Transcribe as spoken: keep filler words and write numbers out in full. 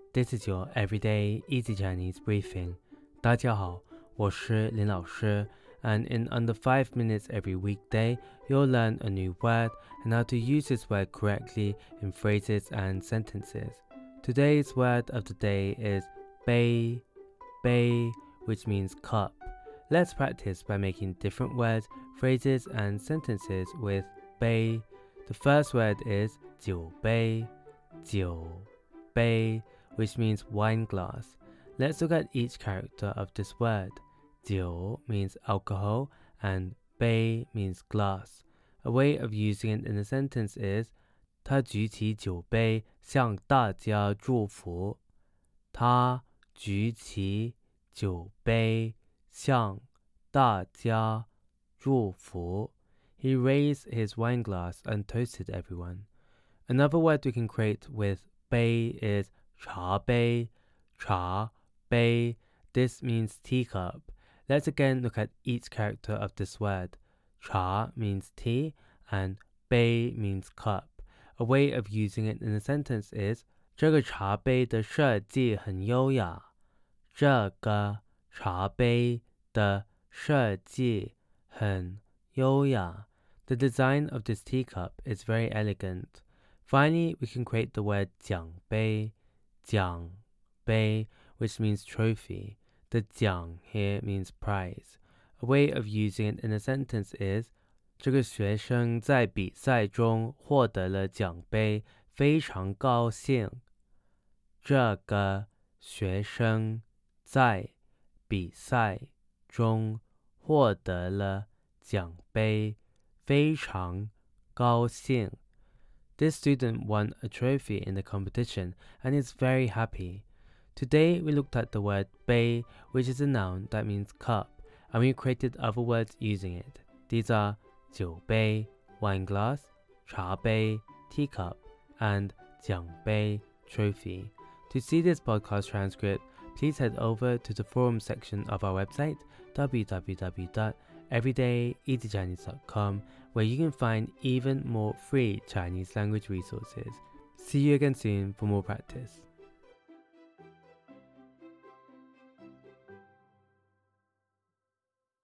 This is your everyday easy Chinese briefing. 大家好，我是林老师 and in under five minutes every weekday, you'll learn a new word and how to use this word correctly in phrases and sentences. Today's word of the day is bei, bei, which means cup. Let's practice by making different words, phrases, and sentences with bei. The first word is 酒杯,酒杯, which means wine glass. Let's look at each character of this word. 酒 means alcohol and 杯 means glass. A way of using it in a sentence is 他举起酒杯向大家祝福。他举起酒杯向大家祝福。He raised his wine glass and toasted everyone. Another word we can create with 杯 is 茶杯, 茶杯. This means teacup. Let's again look at each character of this word. 茶 means tea and 杯 means cup. A way of using it in a sentence is 这个茶杯的设计很优雅。这个茶杯的设计很优雅。The design of this teacup is very elegant. Finally, we can create the word 奖杯, 奖杯, which means trophy. The 奖 here means prize. A way of using it in a sentence is 这个学生在比赛中获得了奖杯，非常高兴。这个学生在比赛中获得了奖杯，非常高兴。This student won a trophy in the competition and is very happy. Today we looked at the word 杯, which is a noun that means cup, and we created other words using it. These are 酒杯 wine glass, 茶杯 teacup, and 奖杯 trophy. To see this podcast transcript, please head over to the forum section of our website, w w w dot everyday easy chinese dot com, where you can find even more free Chinese language resources. See you again soon for more practice.